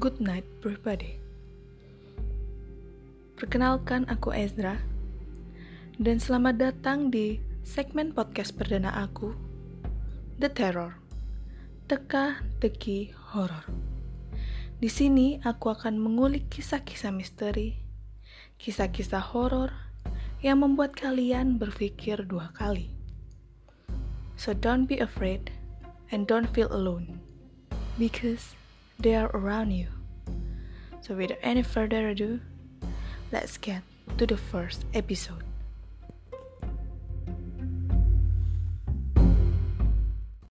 Good night, everybody. Perkenalkan, aku Ezra, dan selamat datang di segmen podcast perdana aku, The Terror, teka-teki horor. Di sini aku akan mengulik kisah-kisah misteri, kisah-kisah horor yang membuat kalian berpikir dua kali. So don't be afraid and don't feel alone, because they are around you. So without any further ado, let's get to the first episode.